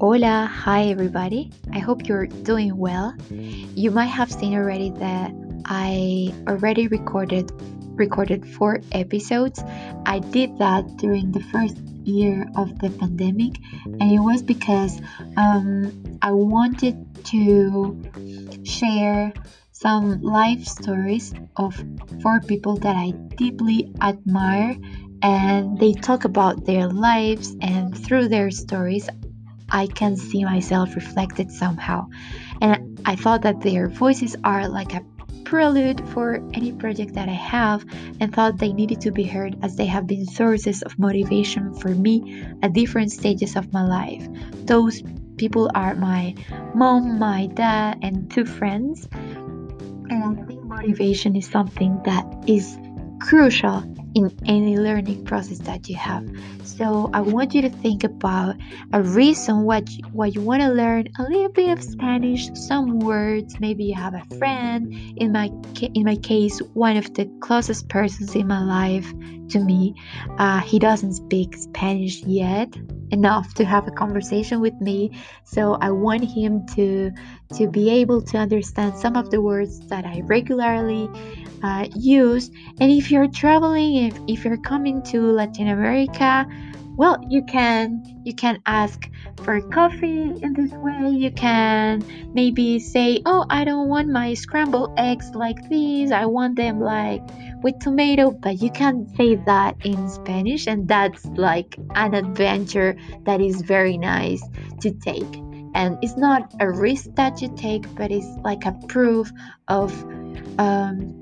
Hola, hi everybody. I hope you're doing well. You might have seen already that I already recorded 4 episodes. I did that during the first year of the pandemic, and it was because I wanted to share some life stories of 4 people that I deeply admire, and they talk about their lives, and through their stories I can see myself reflected somehow. And I thought that their voices are like a prelude for any project that I have, and thought they needed to be heard as they have been sources of motivation for me at different stages of my life. Those people are my mom, my dad, and 2 friends. And I think motivation is something that is crucial in any learning process that you have. So I want you to think about a reason why you want to learn a little bit of Spanish, some words. Maybe you have a friend. In my case, one of the closest persons in my life to me, he doesn't speak Spanish yet enough to have a conversation with me. So I want him to be able to understand some of the words that I regularly use. And if you're traveling, if you're coming to Latin America, well, you can ask for coffee in this way. You can maybe say, "Oh, I don't want my scrambled eggs like these. I want them like with tomato." But you can say that in Spanish, and that's like an adventure that is very nice to take. And it's not a risk that you take, but it's like a proof of um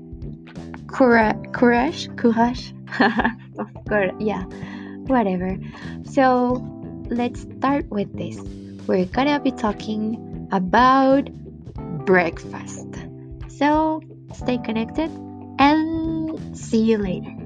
courage. Of course, yeah, whatever. So let's start with this. We're gonna be talking about breakfast. So stay connected and see you later.